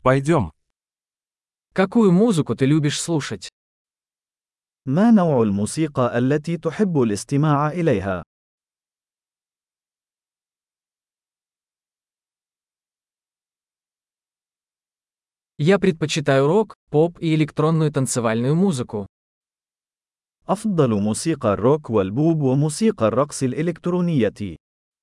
Пойдем. Какую музыку ты любишь слушать? ما نوع الموسيقى التي تحب الاستماع إليها؟ Я предпочитаю рок, поп и электронную танцевальную музыку. أفضل موسيقى الروك والبوب وموسيقى الرقص الإلكترونية.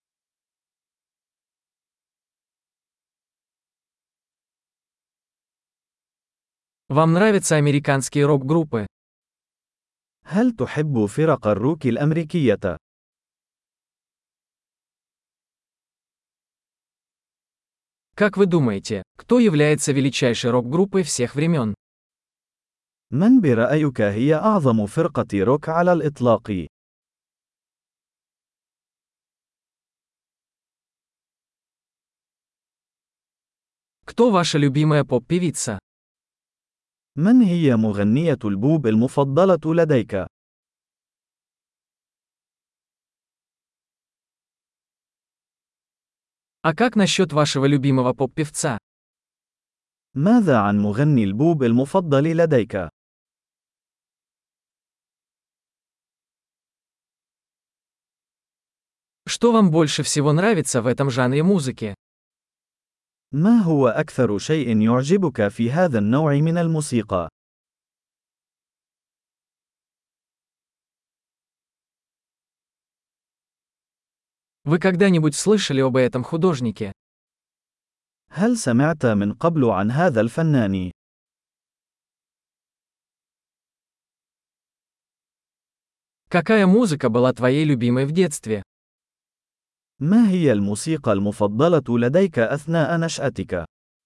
Вам нравятся американские рок-группы? هل تحب فرق الروك الأمريكية؟ Как вы думаете, кто является величайшей рок-группой всех времен? من برأيك هي أعظم فرقة روك على الإطلاق؟ Кто ваша любимая поп-певица? من هي مغنية البوب المفضلة لديك؟ А как насчет вашего любимого поп-певца? ماذا عن مغني البوب المفضل لديك؟ Что вам больше всего нравится в этом жанре музыки? ما هو أكثر شيء يعجبك في هذا النوع من الموسيقى؟ Вы когда-нибудь слышали об этом художнике? هل سمعت من قبل عن هذا الفنان؟ Какая музыка была твоей любимой в детстве? ما هي الموسيقى المفضلة لديك أثناء نشأتك؟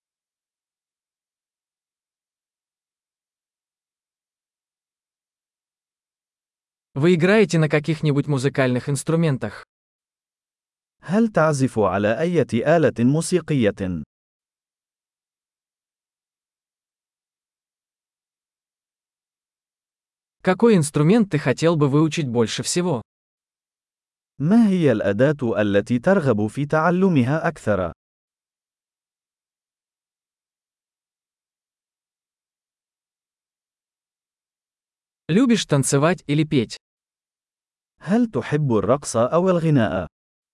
Вы играете на каких-нибудь музыкальных инструментах? هل تعزف على أي آلة موسيقية؟ Какой инструмент ты хотел бы выучить больше всего? ما هي الأداة التي ترغب في تعلمها أكثر؟ Любишь танцевать или петь? هل تحب الرقص أو الغناء؟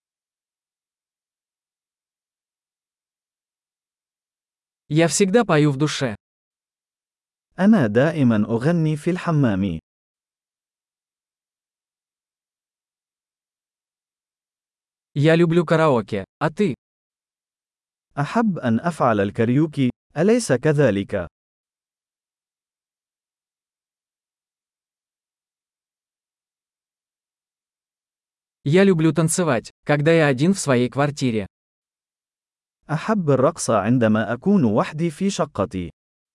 Я всегда пою в душе. أنا دائما أغني في الحمام. Я люблю караоке, а ты? أحب أن أفعل الكاريوكي، أليس كذلك؟ Я люблю танцевать, когда я один в своей квартире. أحب الرقص عندما أكون وحدي في شقتي.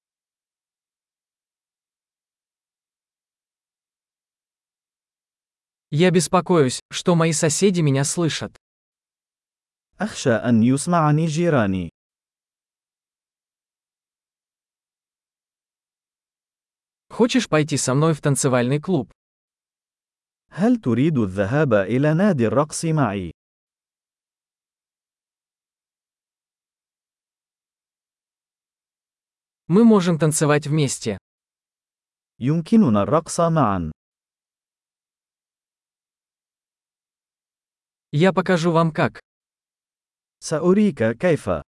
Я беспокоюсь, что мои соседи меня слышат. أخشى أن يسمعني جيراني. Хочешь пойти со мной в танцевальный клуб? هل تريد الذهاب إلى نادي الرقص معي؟ Мы можем танцевать вместе. يمكننا الرقص معا. Я покажу вам как. سأريك كيف.